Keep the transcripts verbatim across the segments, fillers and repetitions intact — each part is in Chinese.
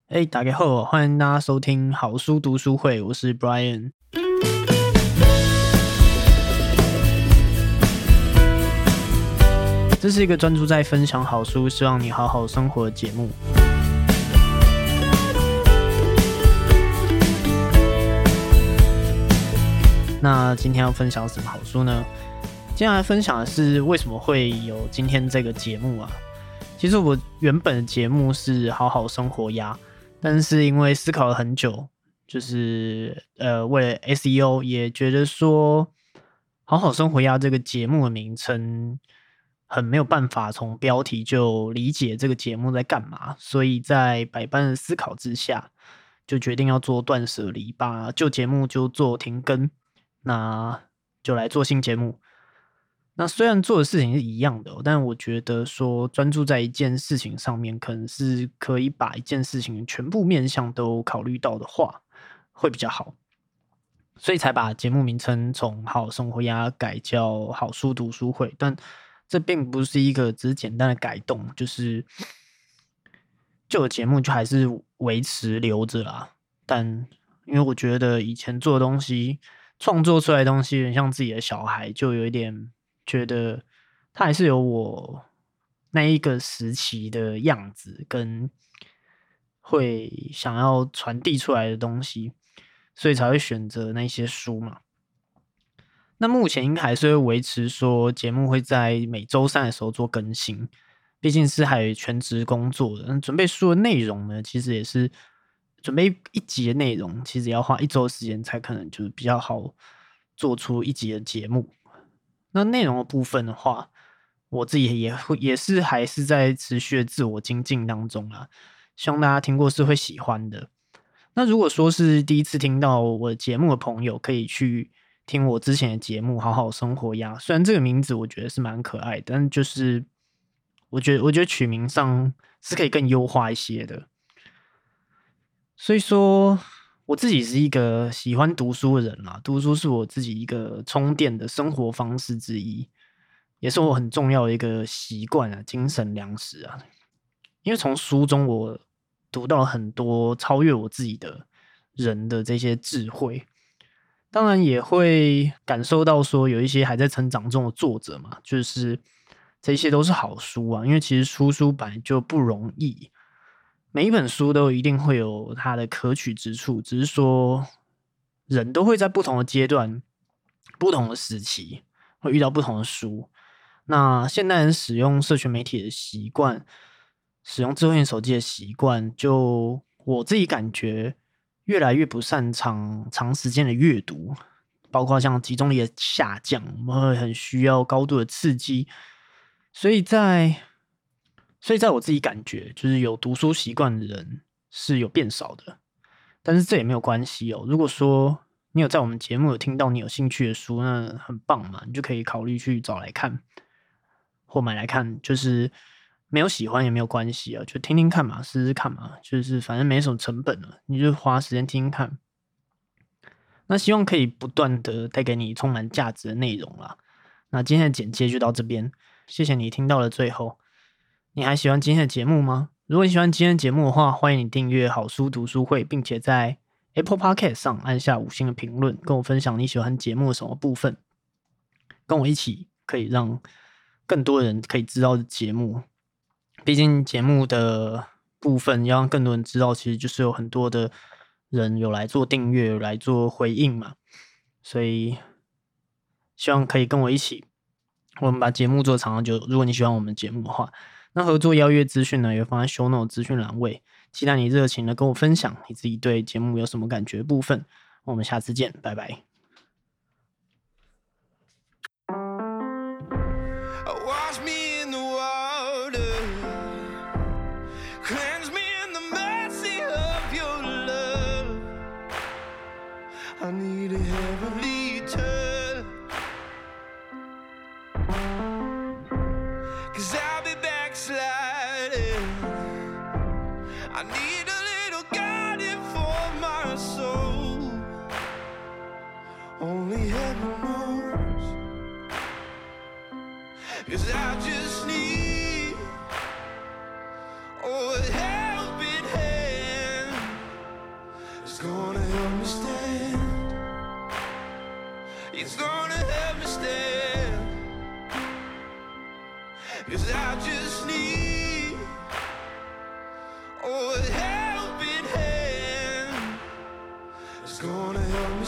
哎，大家好，欢迎大家收听好书读书会，我是 Brian。这是一个专注在分享好书，希望你好好生活的节目。那今天要分享什么好书呢？今天来分享的是为什么会有今天这个节目啊？其实我原本的节目是好好生活呀，但是因为思考了很久，就是呃为了 S E O 也觉得说好好生活呀这个节目的名称很没有办法从标题就理解这个节目在干嘛，所以在百般的思考之下，就决定要做断舍离，把旧节目就做停更，那就来做新节目。那虽然做的事情是一样的、哦，但我觉得说专注在一件事情上面，可能是可以把一件事情全部面向都考虑到的话，会比较好。所以才把节目名称从好好生活呀改叫好书读书会，但这并不是一个只是简单的改动，就是旧的节目就还是维持留着啦。但因为我觉得以前做的东西，创作出来的东西，有点像自己的小孩，就有一点觉得它还是有我那一个时期的样子，跟会想要传递出来的东西，所以才会选择那些书嘛。那目前应该还是会维持说节目会在每周三的时候做更新，毕竟是还有全职工作的。那准备书的内容呢，其实也是准备一集的内容，其实也要花一周的时间才可能就是比较好做出一集的节目。那内容的部分的话，我自己也会也是还是在持续的自我精进当中啦，希望大家听过是会喜欢的。那如果说是第一次听到我的节目的朋友，可以去听我之前的节目《好好生活呀》。虽然这个名字我觉得是蛮可爱的，但就是我觉得我觉得取名上是可以更优化一些的。所以说，我自己是一个喜欢读书的人啦，读书是我自己一个充电的生活方式之一，也是我很重要的一个习惯啊，精神粮食啊。因为从书中我读到很多超越我自己的人的这些智慧，当然也会感受到说有一些还在成长中的作者嘛，就是这些都是好书啊，因为其实出书本来就不容易。每一本书都一定会有它的可取之处，只是说人都会在不同的阶段、不同的时期会遇到不同的书。那现代人使用社群媒体的习惯，使用智慧型手机的习惯，就我自己感觉越来越不擅长长时间的阅读，包括像集中力的下降，我们会很需要高度的刺激，所以在所以在我自己感觉，就是有读书习惯的人是有变少的，但是这也没有关系哦。如果说你有在我们节目有听到你有兴趣的书，那很棒嘛，你就可以考虑去找来看或买来看，就是没有喜欢也没有关系啊，就听听看嘛，试试看嘛，就是反正没什么成本了，你就花时间听听看。那希望可以不断的带给你充满价值的内容啦。那今天的简介就到这边，谢谢你听到了最后。你还喜欢今天的节目吗？如果你喜欢今天的节目的话，欢迎你订阅好书读书会，并且在 Apple Podcast 上按下五星的评论，跟我分享你喜欢节目的什么部分，跟我一起可以让更多人可以知道的节目。毕竟节目的部分要让更多人知道，其实就是有很多的人有来做订阅，有来做回应嘛，所以希望可以跟我一起，我们把节目做长长久。如果你喜欢我们节目的话，那合作邀约资讯呢，也放在 show note 资讯栏位，期待你热情的跟我分享你自己对节目有什么感觉的部分。我们下次见，拜拜。 I need a heavenly touch, 'cause I'll be backsliding. I need a little guiding for my soul. Only heaven knows, 'cause I just need oh, a helping hand.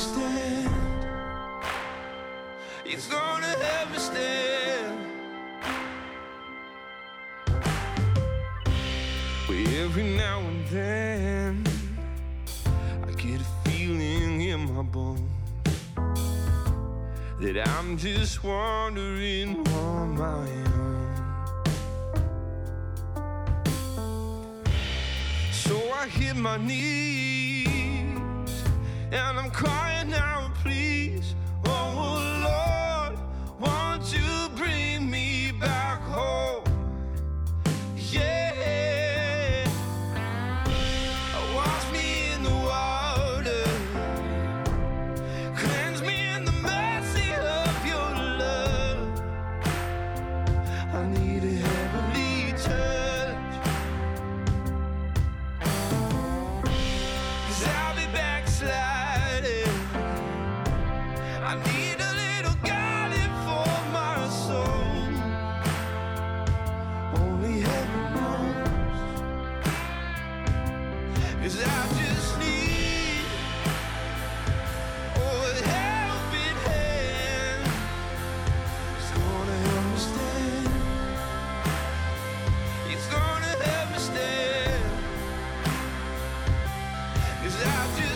stand. It's gonna help me stand. Every now and then I get a feeling in my bones that I'm just wandering on my own. So I hit my knees and I'm crying out, please, oh Lord, won't you bring me back home? Yeah. It's gonna help me stand. 'Cause I just